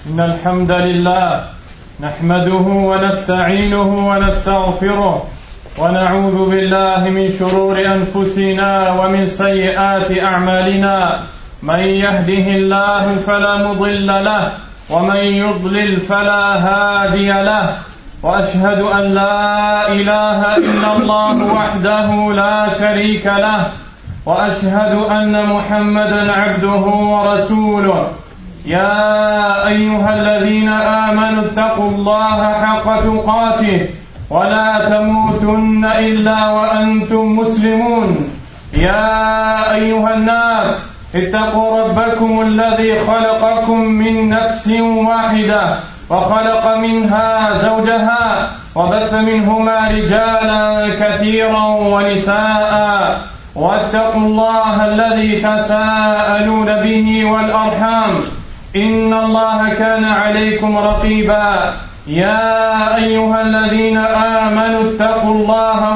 إن الحمد لله نحمده ونستعينه ونستغفره ونعوذ بالله من شرور أنفسنا ومن سيئات أعمالنا. من يهده الله فلا مضل له ومن يضلل فلا هادي له، وأشهد أن لا إله إلا الله وحده لا شريك له، وأشهد أن محمدا عبده ورسوله. يا أيها الذين آمنوا اتقوا الله حق تقاته ولا تموتن إلا وأنتم مسلمون. يا أيها الناس اتقوا ربكم الذي خلقكم من نفس واحدة وخلق منها زوجها وبث منهما رجالا كثيرا ونساء، واتقوا الله الذي تساءلون به والأرحام إن الله كان عليكم رقيبا. يا أيها الذين آمنوا اتقوا الله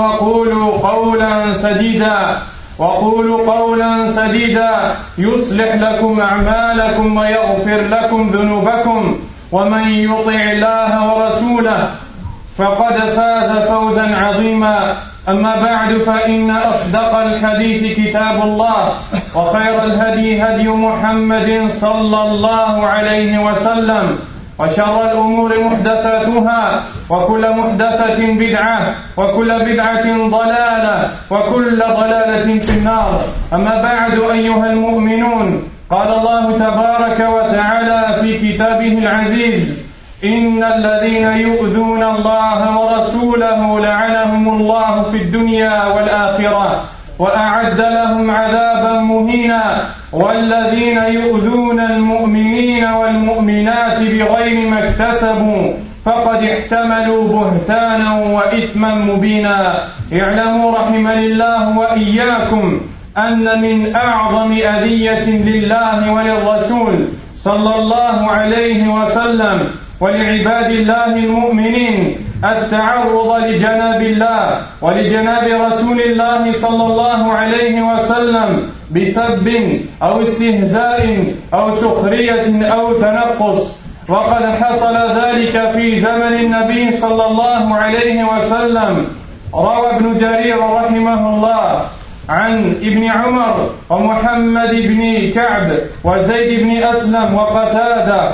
وقولوا قولا سديدا يصلح لكم أعمالكم ويغفر لكم ذنوبكم، ومن يطع الله ورسوله فقد فاز فوزا عظيما. أما بعد، فإن أصدق الحديث كتاب الله، وخير الهدي هدي محمد صلى الله عليه وسلم، وشر الأمور محدثاتها، وكل محدثة بدعة، وكل بدعة ضلالة، وكل ضلالة في النار. أما بعد أيها المؤمنون، قال الله تبارك وتعالى في كتابه العزيز: إن الذين يؤذون الله ورسوله لعنهم الله في الدنيا والآخرة وأعد لهم عذابا مهينا. والذين يؤذون المؤمنين والمؤمنات بغير ما اكتسبوا فقد احتملوا بهتانا وإثما مبينا. اعلموا رحمني الله وإياكم أن من أعظم أذية لله وللرسول صلى الله عليه وسلم ولعباد الله المؤمنين التعرض لجناب الله ولجناب رسول الله صلى الله عليه وسلم بسب أو استهزاء أو سخرية أو تنقص. وقد حصل ذلك في زمن النبي صلى الله عليه وسلم. روى ابن جرير رحمه الله عن ابن عمر ومحمد بن كعب وزيد بن أسلم وقتادة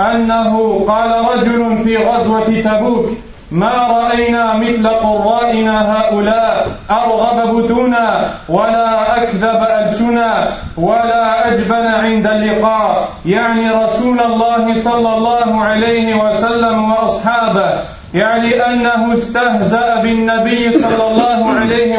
أنه قال رجل في غزوة تبوك: ما رأينا مثل قرائنا هؤلاء أرغب بطونا ولا أكذب ألسنا ولا أجبن عند اللقاء، يعني رسول الله صلى الله عليه وسلم وأصحابه، يعني أنه استهزأ بالنبي صلى الله عليه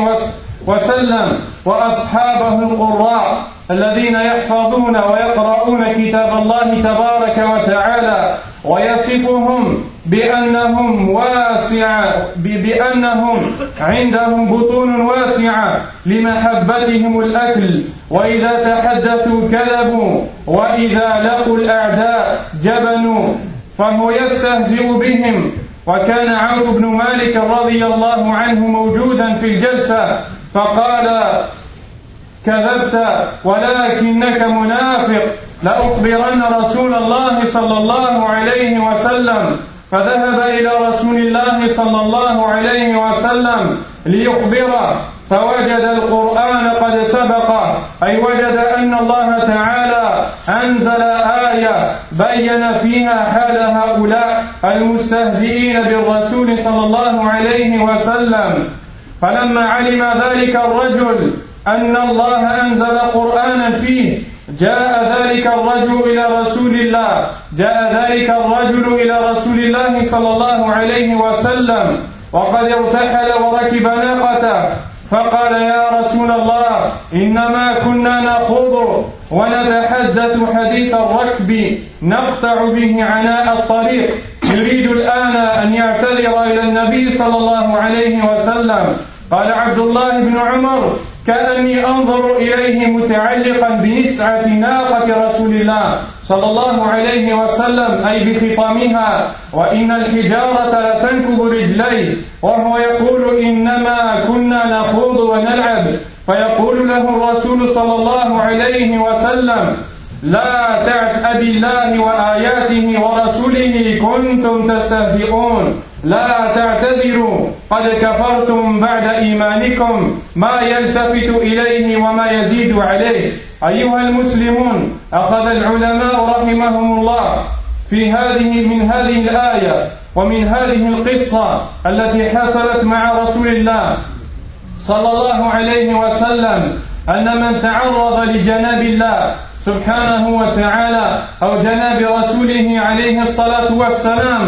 وسلم وأصحابه القراء الذين يحفظون ويقرؤون كتاب الله تبارك وتعالى، ويصفهم بأنهم عندهم بطون واسعة لمحبتهم الأكل، وإذا تحدثوا كذبوا، وإذا لقوا الأعداء جبنوا، فهو يستهزئ بهم. وكان عوف بن مالك رضي الله عنه موجودا في الجلسة فقال: كذبت ولكنك منافق، لأخبرن رسول الله صلى الله عليه وسلم. فذهب إلى رسول الله صلى الله عليه وسلم ليخبره، فوجد القرآن قد سبقه، أي وجد أن الله تعالى أنزل آية بين فيها حال هؤلاء المستهزئين بالرسول صلى الله عليه وسلم. فلما علم ذلك الرجل أن الله أنزل قرآنا فيه، جاء ذلك الرجل إلى رسول الله صلى الله عليه وسلم وقد ارتحل وركب ناقته، فقال: يا رسول الله، إنما كنا نخوض ونتحدث حديث الركب نقطع به عناء الطريق، يريد الآن أن يعتذر إلى النبي صلى الله عليه وسلم. قال عبد الله بن عمر: كأني أنظر إليه متعلقا بنسعة ناقة رسول الله صلى الله عليه وسلم، أي بخطامها، وإن الحجارة لتنكب رجليه، وهو يقول: إنما كنا نخوض ونلعب. فيقول له الرسول صلى الله عليه وسلم: لا بالله وآياته ورسوله كنتم تستهزئون لا تعتذروا قد كفرتم بعد إيمانكم ما يلتفت إليه وما يزيد عليه. أيها المسلمون، أخذ العلماء رحمهم الله من هذه الآية ومن هذه القصة التي حصلت مع رسول الله صلى الله عليه وسلم أن من تعرض لجناب الله سبحانه وتعالى أو جناب رسوله عليه الصلاة والسلام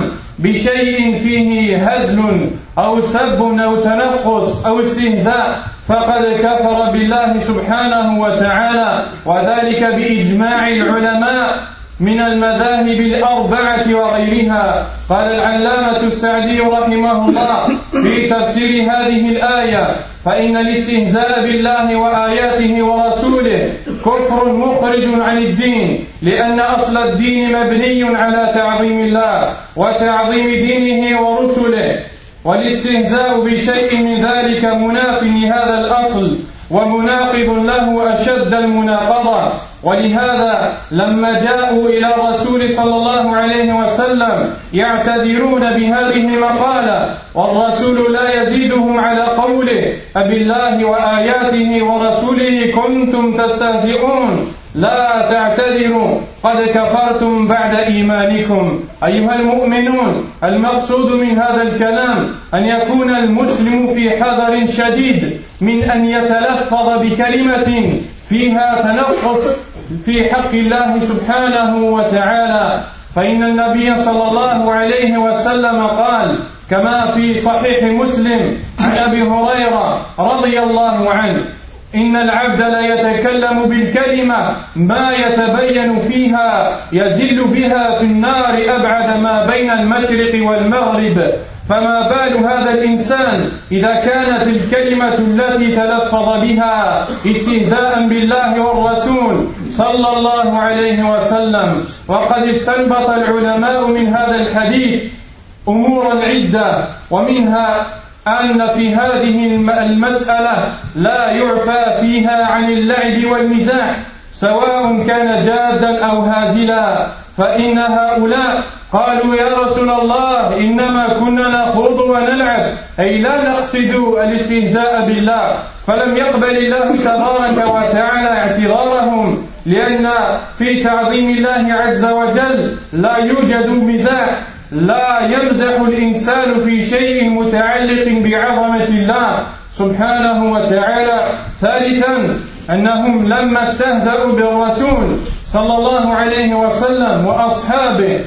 بشيء فيه هزل أو سب أو تنقص أو استهزاء فقد كفر بالله سبحانه وتعالى، وذلك بإجماع العلماء من المذاهب الأربعة وغيرها. قال العلامة السعدي رحمه الله في تفسير هذه الآية: فإن الاستهزاء بالله وآياته ورسوله كفر مخرج عن الدين، لأن أصل الدين مبني على تعظيم الله وتعظيم دينه ورسله، والاستهزاء بشيء من ذلك مناف لهذا الأصل ومناقض له أشد المناقضة. ولهذا لما جاءوا إلى الرسول صلى الله عليه وسلم يعتذرون بهذه المقالة والرسول لا يزيدهم على قوله: أبالله وآياته ورسوله كنتم تستهزئون لا تعتذروا قد كفرتم بعد إيمانكم. أيها المؤمنون، المقصود من هذا الكلام أن يكون المسلم في حذر شديد من أن يتلفظ بكلمة فيها تنقص في حق الله سبحانه وتعالى، فإن النبي صلى الله عليه وسلم قال كما في صحيح مسلم عن أبي هريرة رضي الله عنه: إن العبد لا يتكلم بالكلمة ما يتبين فيها يزل بها في النار أبعد ما بين المشرق والمغرب، فما بال هذا الإنسان إذا كانت الكلمة التي تلفظ بها استهزاء بالله والرسول صلى الله عليه وسلم. وقد استنبط العلماء من هذا الحديث أمورا عدة، ومنها أن في هذه المسألة لا يعفى فيها عن اللعب والمزاح سواء كان جادا أو هازلا، فإن هؤلاء قالوا: يا رسول الله، إنما كنا نخوض ونلعب، أي لا نقصد الاستهزاء بالله، فلم يقبل الله تبارك وتعالى اعتذارهم، لأن في تعظيم الله عز وجل لا يوجد مزاح، لا يمزح الإنسان في شيء متعلق بعظمة الله سبحانه وتعالى. ثالثا، أنهم لما استهزأوا بالرسول صلى الله عليه وسلم وأصحابه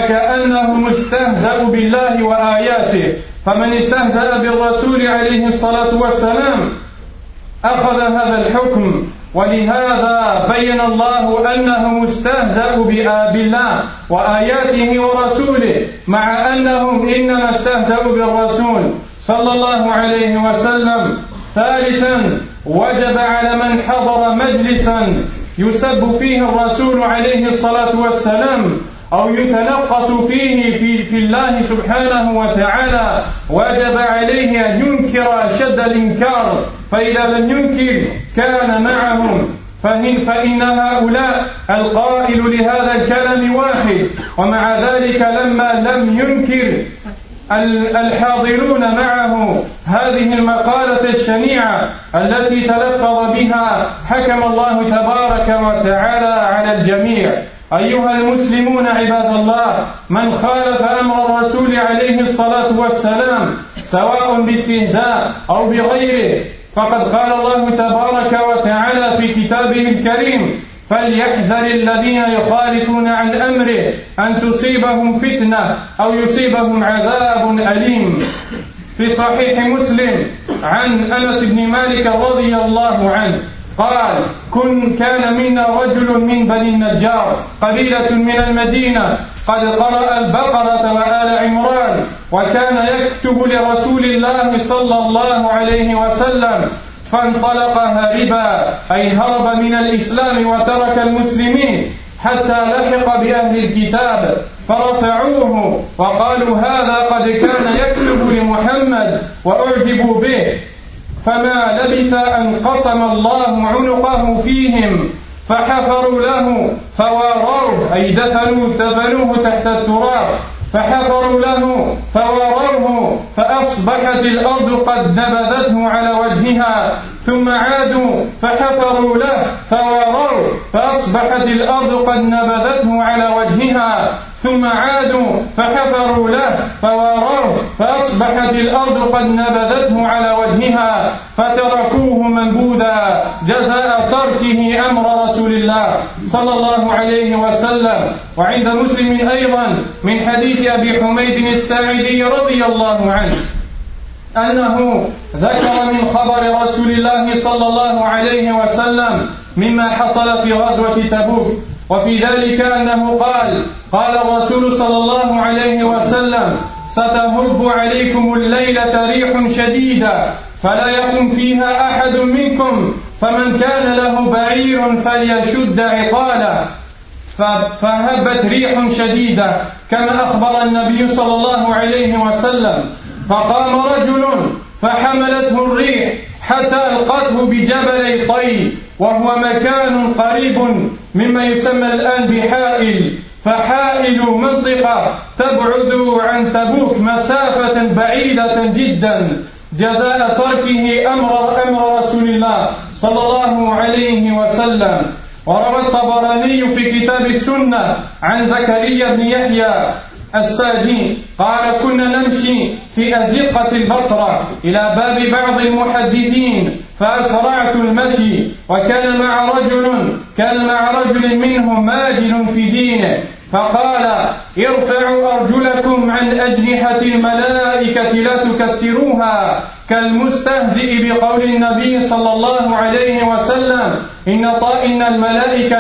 فكأنهم استهزأوا بالله وآياته، فمن استهزأ بالرسول عليه الصلاة والسلام أخذ هذا الحكم. ولهذا بين الله أنهم استهزأوا بالله وآياته ورسوله، مع أنهم إنما استهزأوا بالرسول صلى الله عليه وسلم. ثالثا، وجب على من حضر مجلسا يسب فيه الرسول عليه الصلاة والسلام أو يتنقص فيه في الله سبحانه وتعالى، وجب عليه أن ينكر أشد الإنكار، فإذا لم ينكر كان معهم، فإن هؤلاء القائل لهذا الكلام واحد، ومع ذلك لما لم ينكر الحاضرون معه هذه المقالة الشنيعة التي تلفظ بها حكم الله تبارك وتعالى على الجميع. أيها المسلمون عباد الله، من خالف أمر الرسول عليه الصلاة والسلام سواء باستهزاء أو بغيره فقد قال الله تبارك وتعالى في كتابه الكريم: فليحذر الذين يخالفون عن أمره أن تصيبهم فتنة أو يصيبهم عذاب أليم. في صحيح مسلم عن أنس بن مالك رضي الله عنه قال: كان منا رجل من بني النجار قبيلة من المدينة قد قرأ البقرة وآل عمران، وكان يكتب لرسول الله صلى الله عليه وسلم، فانطلق هاربا، أي هرب من الإسلام وترك المسلمين حتى لحق بأهل الكتاب، فرفعوه وقالوا: هذا قد كان يكتب لمحمد، وأعجبوا به، فما لبث أن قسم الله عنقه فيهم، فحفروا له فواروه أي دفنوه تحت التراب فحفروا له فواروه فأصبحت الأرض قد نبذته على وجهها ثم عادوا فحفروا له فواروه فأصبحت الأرض قد نبذته على وجهها ثم عادوا فحفروا له فواروه فأصبحت الأرض قد نبذته على وجهها فتركوه منبوذا جزاء تركه أمر رسول الله صلى الله عليه وسلم. وعند مسلم أيضا من حديث أبي حميد الساعدي رضي الله عنه أنه ذكر من خبر رسول الله صلى الله عليه وسلم مما حصل في غزوة تبوك، وفي ذلك أنه قال الرسول صلى الله عليه وسلم: ستهب عليكم الليلة ريح شديدة فلا يقم فيها أحد منكم، فمن كان له بعير فليشد عقاله. فهبت ريح شديدة كما أخبر النبي صلى الله عليه وسلم، فقام رجل فحملته الريح حتى ألقته بجبل طي، وهو مكان قريب مما يسمى الآن بحائل، فحائل منطقة تبعد عن تبوك مسافة بعيدة جدا جزاء تركه أمر رسول الله صلى الله عليه وسلم. وروى الطبراني في كتاب السنة عن زكريا بن يحيى الساجي قال: كنا نمشي في أزقة البصرة إلى باب بعض المحدثين فأسرعت المشي، وكان مع رجل منهم ماجل في دينه، فقال: ارفعوا أرجلكم عن أجنحة الملائكة لا تكسروها، كالمستهزئ بقول النبي صلى الله عليه وسلم: إن الملائكة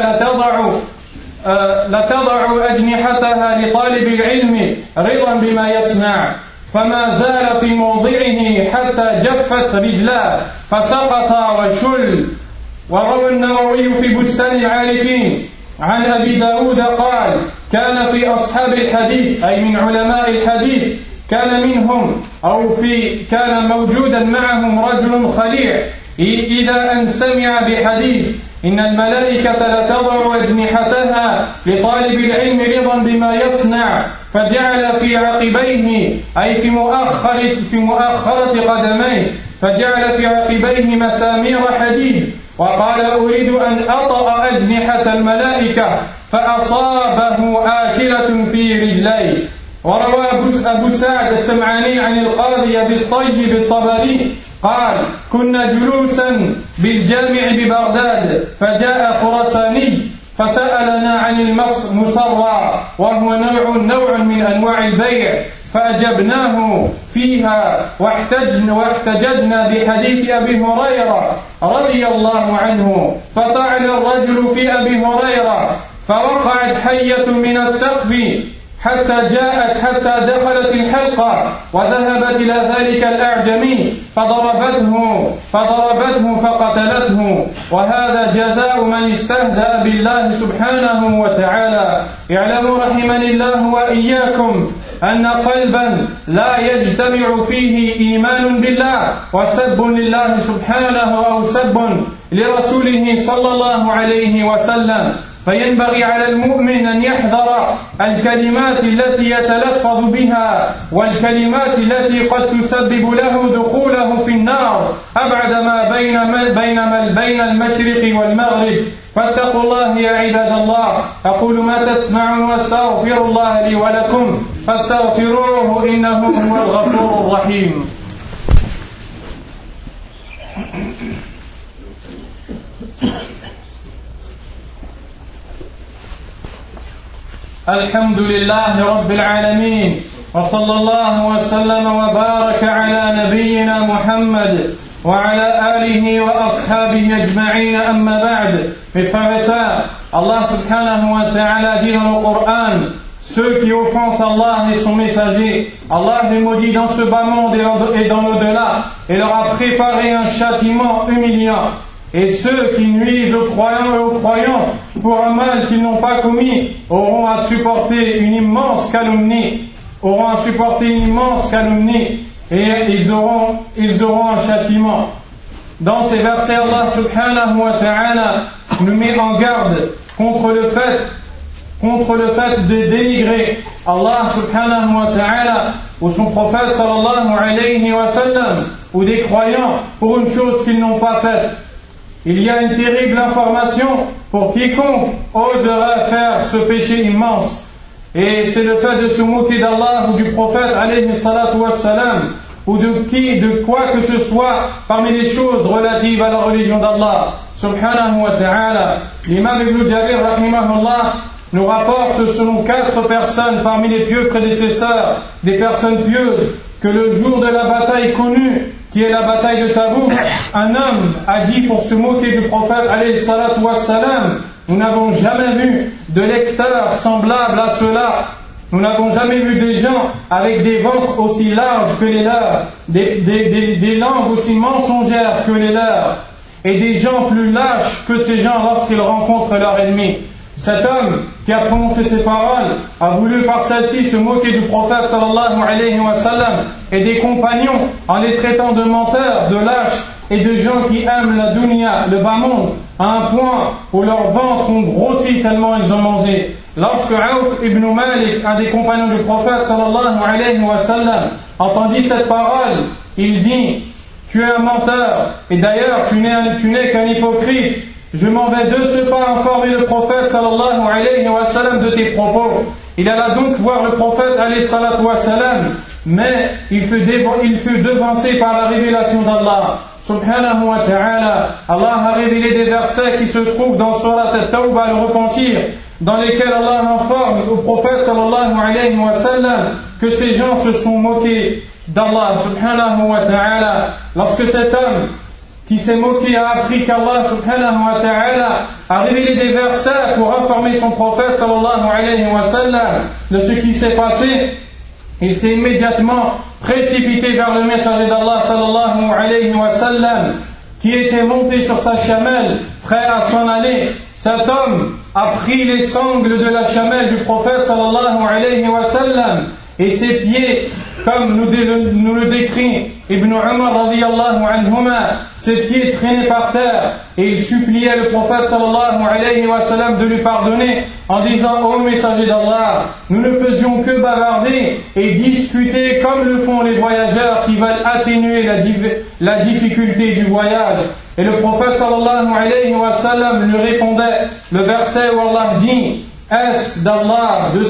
لتضع أجنحتها لطالب العلم رضا بما يسمع، فما زال في موضعه حتى جفت رجلاه فسقط وشل. وروى النووي في بستان العارفين عن أبي داود قال: كان في أصحاب الحديث أي من علماء الحديث كان موجودا معهم رجل خليع إذا أن سمع بحديث إن الملائكة لتضع أجنحتها لطالب العلم رضا بما يصنع، فجعل في عقبيه أي في مؤخرة قدميه فجعل في عقبيه مسامير حديد، وقال: أريد أن أطأ أجنحة الملائكة، فأصابه آكلة في رجليه. وروى أبو سعد السمعاني عن القاضي بالطيب الطبري قال: كنا جلوسا بالجامع ببغداد، فجاء خراساني فسألنا عن المصرى، وهو نوع من أنواع البيع، فأجبناه فيها واحتججنا بحديث أبي هريرة رضي الله عنه، فطعن الرجل في أبي هريرة، فوقعت حية من السقف حتى دخلت الحلقة، وذهبت إلى ذلك الأعجمي فضربته فقتلته. وهذا جزاء من استهزأ بالله سبحانه وتعالى. اعلموا رحمني الله وإياكم أن قلبا لا يجتمع فيه إيمان بالله وسب لله سبحانه أو سب لرسوله صلى الله عليه وسلم، فينبغي على المؤمن أن يحذر الكلمات التي يتلفظ بها والكلمات التي قد تسبب له دخوله في النار أبعد ما بين المشرق والمغرب. فاتقوا الله يا عباد الله. أقول ما تسمعون واستغفر الله لي ولكم فاستغفروه إنه هو الغفور الرحيم. الحمد لله رب العالمين، وصلى الله وسلم وبارك على نبينا محمد وعلى آله وأصحابه أجمعين. أما بعد. Mes frères et sœurs, Allah subhanahu wa ta'ala dit dans le Coran: ceux qui offensent Allah et son messager, Allah les maudit dans ce bas monde et dans l'au-delà, et leur a préparé un châtiment humiliant. Et ceux qui nuisent aux croyants et aux croyants pour un mal qu'ils n'ont pas commis auront à supporter une immense calomnie. Et ils auront un châtiment. Dans ces versets, Allah subhanahu wa ta'ala nous met en garde contre le fait de dénigrer Allah subhanahu wa ta'ala ou son prophète sallallahu alayhi wa sallam ou des croyants pour une chose qu'ils n'ont pas faite. Il y a une terrible information pour quiconque oserait faire ce péché immense. Et c'est le fait de se moquer d'Allah ou du prophète alayhi salatu wa salam ou de quoi que ce soit parmi les choses relatives à la religion d'Allah subhanahu wa ta'ala. L'imam Ibn Jarir rahimahullah nous rapporte selon 4 personnes parmi les pieux prédécesseurs, des personnes pieuses, que le jour de la bataille connue, qui est la bataille de Tabouk, un homme a dit pour se moquer du prophète alayhi salatu wa salam: nous n'avons jamais vu de lecteurs semblables à ceux-là. Nous n'avons jamais vu des gens avec des ventres aussi larges que les leurs, des langues aussi mensongères que les leurs, et des gens plus lâches que ces gens lorsqu'ils rencontrent leur ennemi. Cet homme qui a prononcé ces paroles a voulu par celle-ci se moquer du prophète sallallahu alayhi wa sallam et des compagnons en les traitant de menteurs, de lâches et de gens qui aiment la dunya, le bas monde, à un point où leurs ventres ont grossi tellement ils ont mangé. Lorsque Auf ibn Malik, un des compagnons du prophète sallallahu alayhi wa sallam, entendit cette parole, il dit: tu es un menteur, et d'ailleurs tu n'es qu'un hypocrite. Je m'en vais de ce pas informer le prophète sallallahu alayhi wa sallam de tes propos. Il alla donc voir le prophète alayhi salatu wa sallam, mais il fut devancé par la révélation d'Allah subhanahu wa ta'ala. Allah a révélé des versets qui se trouvent dans Surat At-Tawbah, le repentir, dans lesquels Allah informe au prophète sallallahu alayhi wa sallam que ces gens se sont moqués d'Allah subhanahu wa ta'ala. Lorsque cet homme qui s'est moqué a appris qu'Allah subhanahu wa ta'ala a révélé des versets pour informer son prophète sallallahu alayhi wa sallam de ce qui s'est passé, il s'est immédiatement précipité vers le messager d'Allah sallallahu alayhi wa sallam qui était monté sur sa chamelle prêt à s'en aller. Cet homme a pris les sangles de la chamelle du prophète sallallahu alayhi wa sallam et ses pieds, comme nous le décrit Ibn Umar radiyallahu anhuma, ses pieds traînaient par terre et il suppliait le prophète sallallahu alayhi wa sallam de lui pardonner en disant: ô messager d'Allah, nous ne faisions que bavarder et discuter comme le font les voyageurs qui veulent atténuer la difficulté du voyage. Et le prophète sallallahu alayhi wa sallam lui répondait le verset où Allah dit: est-ce d'Allah, de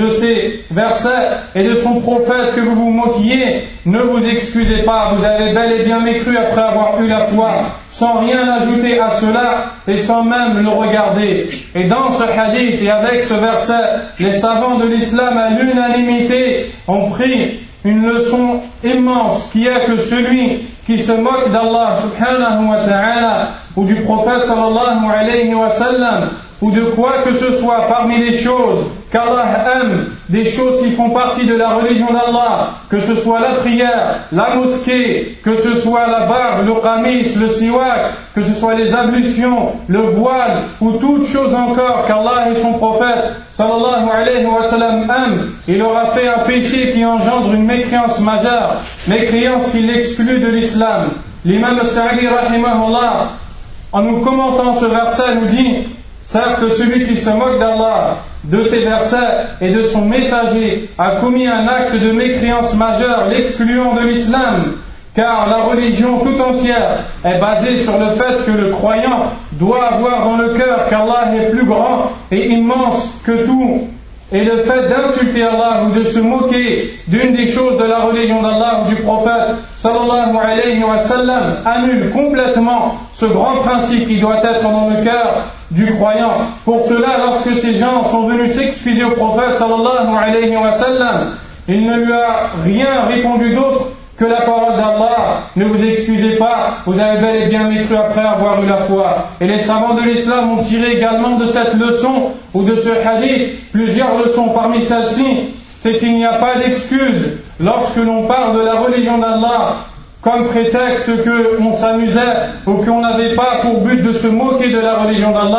ces versets et de son prophète que vous vous moquiez? Ne vous excusez pas, vous avez bel et bien mécru après avoir eu la foi, sans rien ajouter à cela et sans même le regarder. Et dans ce hadith et avec ce verset, les savants de l'islam à l'unanimité ont pris une leçon immense qui est que celui qui se moque d'Allah subhanahu wa ta'ala ou du prophète sallallahu alayhi wa sallam ou de quoi que ce soit parmi les choses qu'Allah aime, des choses qui font partie de la religion d'Allah, que ce soit la prière, la mosquée, que ce soit la barbe, le qamis, le siwak, que ce soit les ablutions, le voile ou toute chose encore qu'Allah et son prophète sallallahu alayhi wa sallam aiment, il aura fait un péché qui engendre une mécréance majeure, mécréance qui l'exclut de l'islam. L'imam Sa'di rahimahullah, en nous commentant ce verset, nous dit: certes, celui qui se moque d'Allah, de ses versets et de son messager a commis un acte de mécréance majeure, l'excluant de l'islam, car la religion tout entière est basée sur le fait que le croyant doit avoir dans le cœur qu'Allah est plus grand et immense que tout. Et le fait d'insulter Allah ou de se moquer d'une des choses de la religion d'Allah ou du prophète sallallahu alayhi wa sallam annule complètement ce grand principe qui doit être dans le cœur du croyant. Pour cela, lorsque ces gens sont venus s'excuser au prophète sallallahu alayhi wa sallam, il ne lui a rien répondu d'autre que la parole d'Allah: ne vous excusez pas, vous avez bel et bien mécru après avoir eu la foi. Et les savants de l'islam ont tiré également de cette leçon ou de ce hadith plusieurs leçons. Parmi celles-ci, c'est qu'il n'y a pas d'excuse lorsque l'on parle de la religion d'Allah comme prétexte qu'on s'amusait ou qu'on n'avait pas pour but de se moquer de la religion d'Allah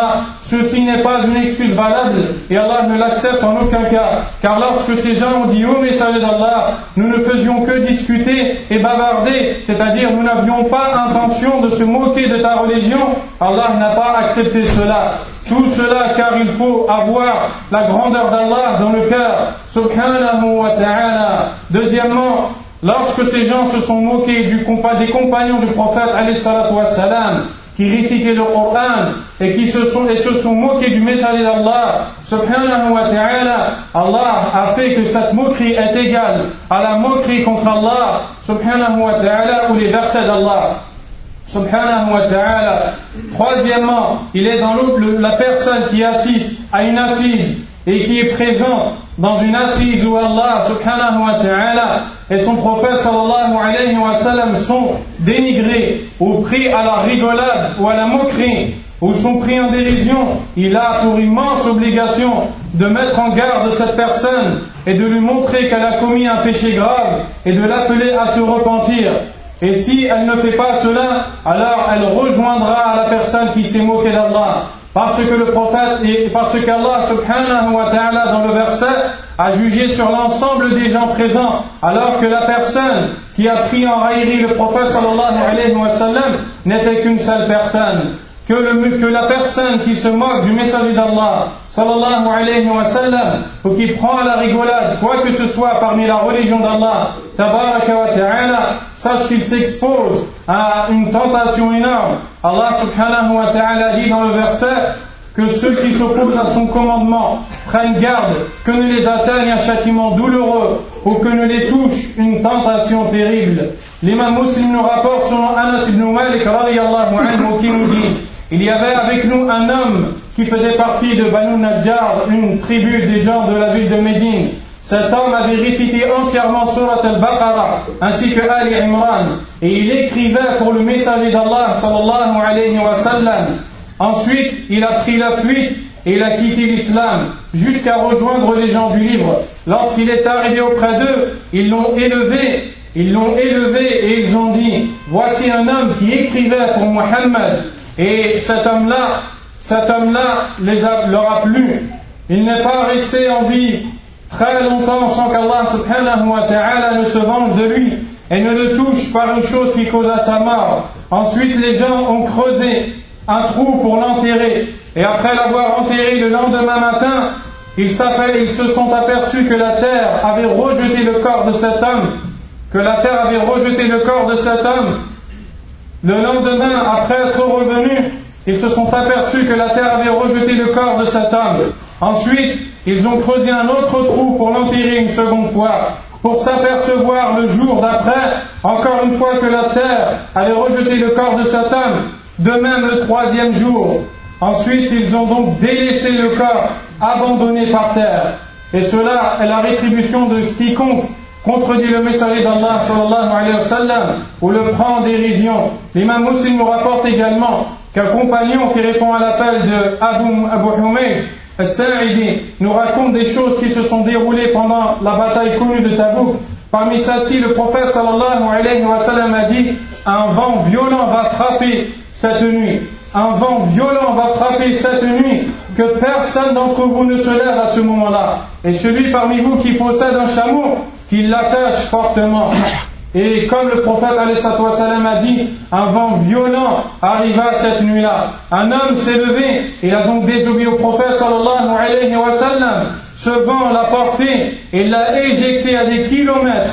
ceci n'est pas une excuse valable et Allah ne l'accepte en aucun cas. Car lorsque ces gens ont dit ô messager d'Allah, nous ne faisions que discuter et bavarder, c'est-à-dire nous n'avions pas intention de se moquer de ta religion, Allah n'a pas accepté cela. Tout cela car il faut avoir la grandeur d'Allah dans le cœur, subhanahu wa ta'ala. Deuxièmement, lorsque ces gens se sont moqués des compagnons du prophète alayhi salatu wassalam, qui récitaient le Coran et se sont moqués du messager d'Allah, subhanahu wa ta'ala, Allah a fait que cette moquerie est égale à la moquerie contre Allah, subhanahu wa ta'ala, ou les versets d'Allah, subhanahu wa ta'ala. Troisièmement, il est dans la personne qui assiste à une assise et qui est présente dans une assise où Allah subhanahu wa ta'ala et son prophète sallallahu alayhi wa sallam sont dénigrés ou pris à la rigolade ou à la moquerie ou sont pris en dérision, il a pour immense obligation de mettre en garde cette personne et de lui montrer qu'elle a commis un péché grave et de l'appeler à se repentir. Et si elle ne fait pas cela, alors elle rejoindra la personne qui s'est moquée d'Allah. Parce que le prophète et parce qu'Allah subhanahu wa ta'ala dans le verset a jugé sur l'ensemble des gens présents, alors que la personne qui a pris en raillerie le prophète sallallahu alayhi wa sallam n'était qu'une seule personne. Que la personne qui se moque du messager d'Allah sallallahu alayhi wa sallam ou qui prend à la rigolade quoi que ce soit parmi la religion d'Allah tabaraka wa ta'ala, sache qu'il s'expose à une tentation énorme. Allah subhanahu wa ta'ala dit dans le verset que ceux qui s'opposent à son commandement prennent garde que ne les atteigne un châtiment douloureux ou que ne les touche une tentation terrible. L'imam Muslim nous rapporte selon Anas ibn Malik radiyallahu anhu qui nous dit: il y avait avec nous un homme qui faisait partie de Banu Najjar, une tribu des gens de la ville de Médine. Cet homme avait récité entièrement Surat al-Baqarah ainsi que Ali Imran et il écrivait pour le messager d'Allah sallallahu alayhi wa sallam. Ensuite, il a pris la fuite et il a quitté l'islam jusqu'à rejoindre les gens du livre. Lorsqu'il est arrivé auprès d'eux, ils l'ont élevé et ils ont dit: voici un homme qui écrivait pour Muhammad. Et cet homme-là leur a plu. Il n'est pas resté en vie très longtemps sans qu'Allah subhanahu wa ta'ala ne se venge de lui et ne le touche par une chose qui causa sa mort. Ensuite, les gens ont creusé un trou pour l'enterrer. Et après l'avoir enterré le lendemain matin, ils se sont aperçus que la terre avait rejeté le corps de cet homme. Le lendemain, après être revenus, ils se sont aperçus que la terre avait rejeté le corps de cet homme. Ensuite, ils ont creusé un autre trou pour l'enterrer une seconde fois, pour s'apercevoir le jour d'après, encore une fois, que la terre avait rejeté le corps de cet homme, de même le troisième jour. Ensuite, ils ont donc délaissé le corps, abandonné par terre. Et cela est la rétribution de quiconque contredit le messager d'Allah sallallahu alayhi wa sallam ou le prend en dérision. L'imam Muslim nous rapporte également qu'un compagnon qui répond à l'appel de Abu Humayd al-Sa'idi nous raconte des choses qui se sont déroulées pendant la bataille connue de Tabouk. Parmi celles-ci, le prophète sallallahu alayhi wa sallam a dit: un vent violent va frapper cette nuit. Un vent violent va frapper cette nuit, que personne d'entre vous ne se lève à ce moment-là. Et celui parmi vous qui possède un chameau, qu'il l'attache fortement. Et comme le prophète alayhi salam a dit, un vent violent arriva cette nuit-là. Un homme s'est levé, il a donc désobéi au prophète sallallahu alayhi wa sallam. Ce vent l'a porté et l'a éjecté à des kilomètres.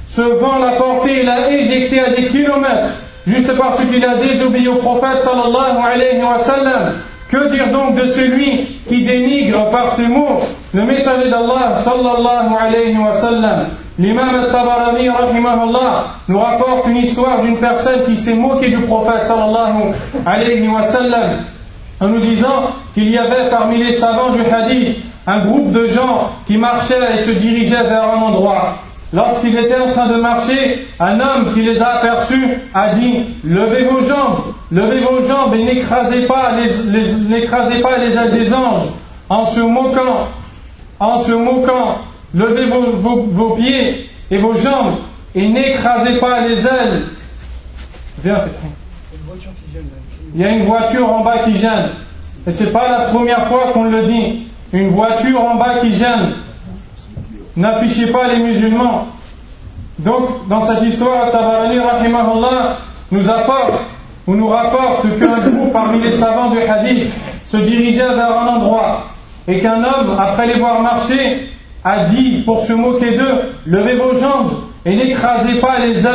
Juste parce qu'il a désobéi au prophète sallallahu alayhi wa sallam. Que dire donc de celui qui dénigre par ses mots le messager d'Allah sallallahu alayhi wa sallam? L'imam al-Tabarani rahimahullah nous rapporte une histoire d'une personne qui s'est moquée du prophète sallallahu alayhi wa sallam en nous disant qu'il y avait parmi les savants du hadith un groupe de gens qui marchaient et se dirigeaient vers un endroit. Lorsqu'ils étaient en train de marcher, un homme qui les a aperçus a dit: levez vos jambes et n'écrasez pas les ailes des anges en se moquant. Levez vos pieds et vos jambes et n'écrasez pas les ailes. Viens, il y a une voiture en bas qui gêne. et c'est pas la première fois qu'on le dit, une voiture en bas qui gêne, n'affichez pas les musulmans. Donc, dans cette histoire, Tabarani, rahimahullah, nous rapporte qu'un groupe parmi les savants du hadith se dirigeait vers un endroit et qu'un homme, après les voir marcher, a dit, pour se moquer d'eux, levez vos jambes et n'écrasez pas les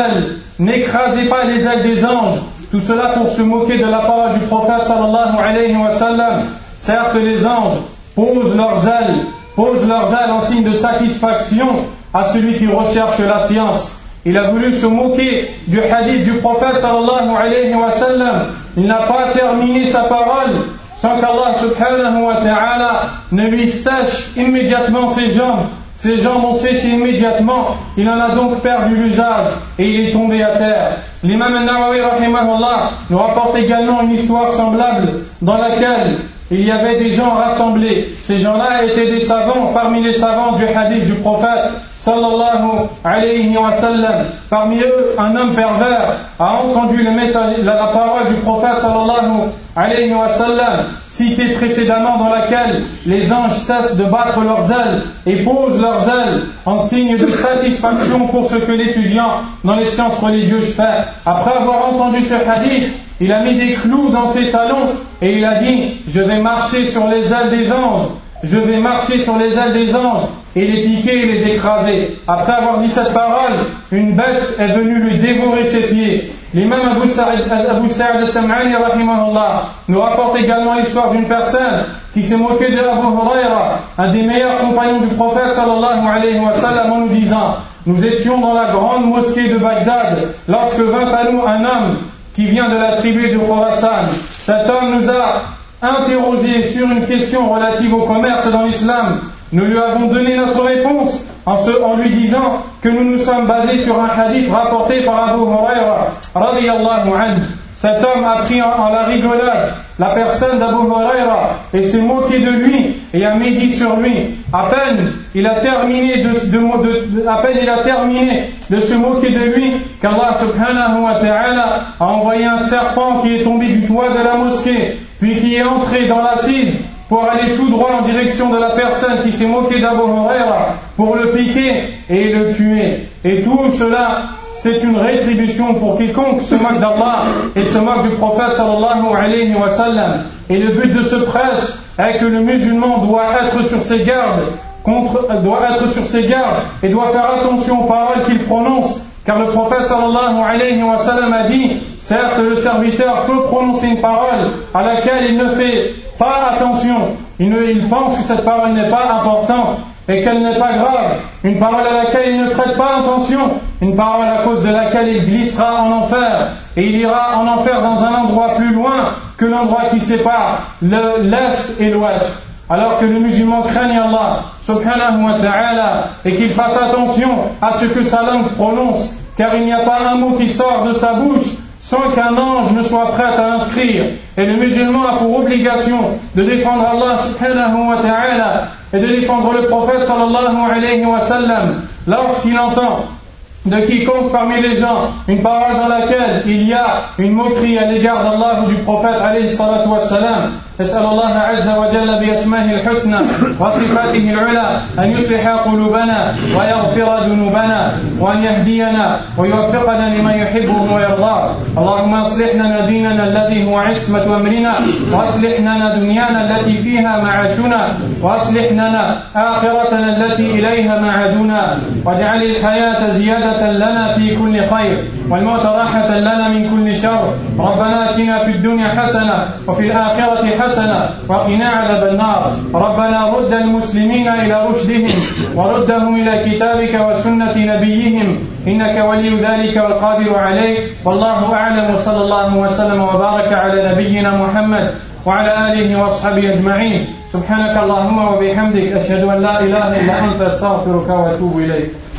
ailes des anges. Tout cela pour se moquer de la parole du prophète sallallahu alayhi wa sallam. Certes, les anges posent leurs ailes en signe de satisfaction à celui qui recherche la science. Il a voulu se moquer du hadith du prophète sallallahu alayhi wa sallam. Il n'a pas terminé sa parole sans qu'Allah subhanahu wa ta'ala ne lui sèche immédiatement ses jambes. Ses jambes ont séché immédiatement. Il en a donc perdu l'usage et il est tombé à terre. L'imam al-Nawawi rahimahullah nous rapporte également une histoire semblable dans laquelle il y avait des gens rassemblés. Ces gens-là étaient des savants parmi les savants du hadith du prophète sallallahu alayhi wa sallam. Parmi eux, un homme pervers a entendu la parole du prophète sallallahu alayhi wa sallam citée précédemment, dans laquelle les anges cessent de battre leurs ailes et posent leurs ailes en signe de satisfaction pour ce que l'étudiant dans les sciences religieuses fait. Après avoir entendu ce hadith, il a mis des clous dans ses talons et il a dit: je vais marcher sur les ailes des anges, je vais marcher sur les ailes des anges et les piquer et les écraser. Après avoir dit cette parole, une bête est venue lui dévorer ses pieds. L'imam Abu Sa'id al-Sam'ani rahimahullah nous rapporte également l'histoire d'une personne qui s'est moqué de Abu Huraira, un des meilleurs compagnons du prophète sallallahu alayhi wa sallam, en nous disant: nous étions dans la grande mosquée de Bagdad lorsque vint à nous un homme qui vient de la tribu de Khurasan. Cet homme nous a interrogé sur une question relative au commerce dans l'islam. Nous lui avons donné notre réponse en lui disant que nous nous sommes basés sur un hadith rapporté par Abu Huraira radiyallahu anhu. Cet homme a pris en la rigolade la personne d'Abu Huraira et s'est moqué de lui et a médit sur lui. À peine il a terminé de se moquer de lui qu'Allah subhanahu wa ta'ala a envoyé un serpent qui est tombé du toit de la mosquée, puis qui est entré dans l'assise pour aller tout droit en direction de la personne qui s'est moquée d'Abu Huraira pour le piquer et le tuer. Et tout cela, c'est une rétribution pour quiconque se moque d'Allah et se moque du prophète sallallahu alayhi wa sallam. Et le but de ce prêche est que le musulman doit être sur ses gardes et doit faire attention aux paroles qu'il prononce, car le prophète sallallahu alayhi wa sallam a dit: certes, le serviteur peut prononcer une parole à laquelle il ne fait pas attention, il pense que cette parole n'est pas importante et qu'elle n'est pas grave, une parole à laquelle il ne prête pas attention, une parole à cause de laquelle il glissera en enfer, et il ira en enfer dans un endroit plus loin que l'endroit qui sépare l'Est et l'Ouest. Alors que le musulman craigne Allah subhanahu wa ta'ala et qu'il fasse attention à ce que sa langue prononce, car il n'y a pas un mot qui sort de sa bouche sans qu'un ange ne soit prêt à l'inscrire. Et le musulman a pour obligation de défendre Allah subhanahu wa ta'ala et de défendre le prophète sallallahu alayhi wa sallam lorsqu'il entend de quiconque parmi les gens une parole dans laquelle il y a une moquerie à l'égard d'Allah ou du prophète alayhi salatu wa salam. نسأل الله عز وجل بأسمائه الحسنى وصفاته العلى أن يصلح قلوبنا ويغفر ذنوبنا وأن يهدينا ويوفقنا لما يحبه ويرضاه. اللهم اصلح لنا ديننا الذي هو عصمة أمرنا، واصلح لنا دنيانا التي فيها معاشنا، واصلح لنا آخرتنا التي إليها معادنا، واجعل الحياة زيادة لنا في كل خير والموت راحة لنا من كل شر. ربنا آتنا في الدنيا حسنة وفي الآخرة حسنة وقنا عذاب النار. ربنا رد المسلمين إلى رشدهم وردهم إلى كتابك وسنة نبيهم إنك ولي ذلك والقادر عليه. والله أعلم، وصلى الله وسلم وبارك على نبينا محمد وعلى آله وأصحابه أجمعين. سبحانك اللهم وبحمدك أشهد أن لا إله إلا أنت أستغفرك وأتوب إليك.